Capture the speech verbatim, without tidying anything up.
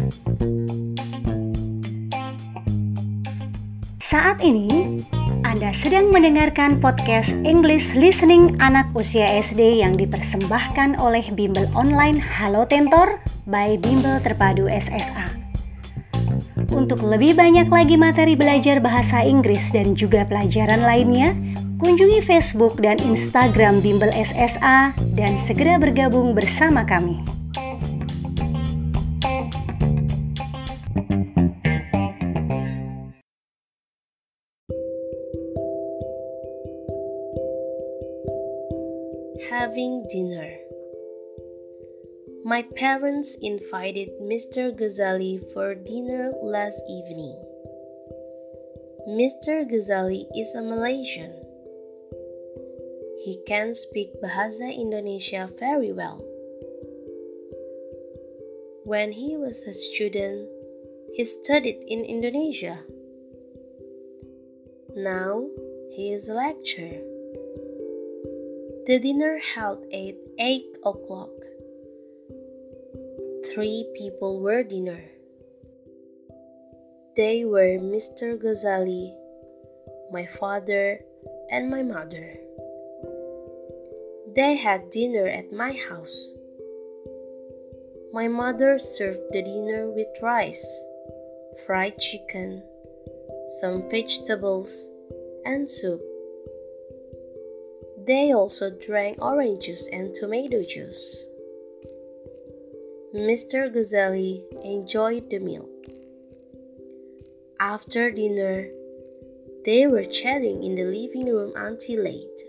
Saat ini, Anda sedang mendengarkan podcast English Listening anak usia S D yang dipersembahkan oleh Bimbel Online Halo Tentor by Bimbel Terpadu S S A. Untuk lebih banyak lagi materi belajar bahasa Inggris dan juga pelajaran lainnya, kunjungi Facebook dan Instagram Bimbel S S A dan segera bergabung bersama kami. Having dinner. My parents invited Mister Ghazali for dinner last evening. Mister Ghazali is a Malaysian. He can speak Bahasa Indonesia very well. When he was a student, he studied in Indonesia. Now, he is a lecturer. The dinner held at eight o'clock. Three people were dinner. They were Mister Ghazali, my father, and my mother. They had dinner at my house. My mother served the dinner with rice, fried chicken, some vegetables, and soup. They also drank orange juice and tomato juice. Mister Ghazali enjoyed the meal. After dinner, they were chatting in the living room until late.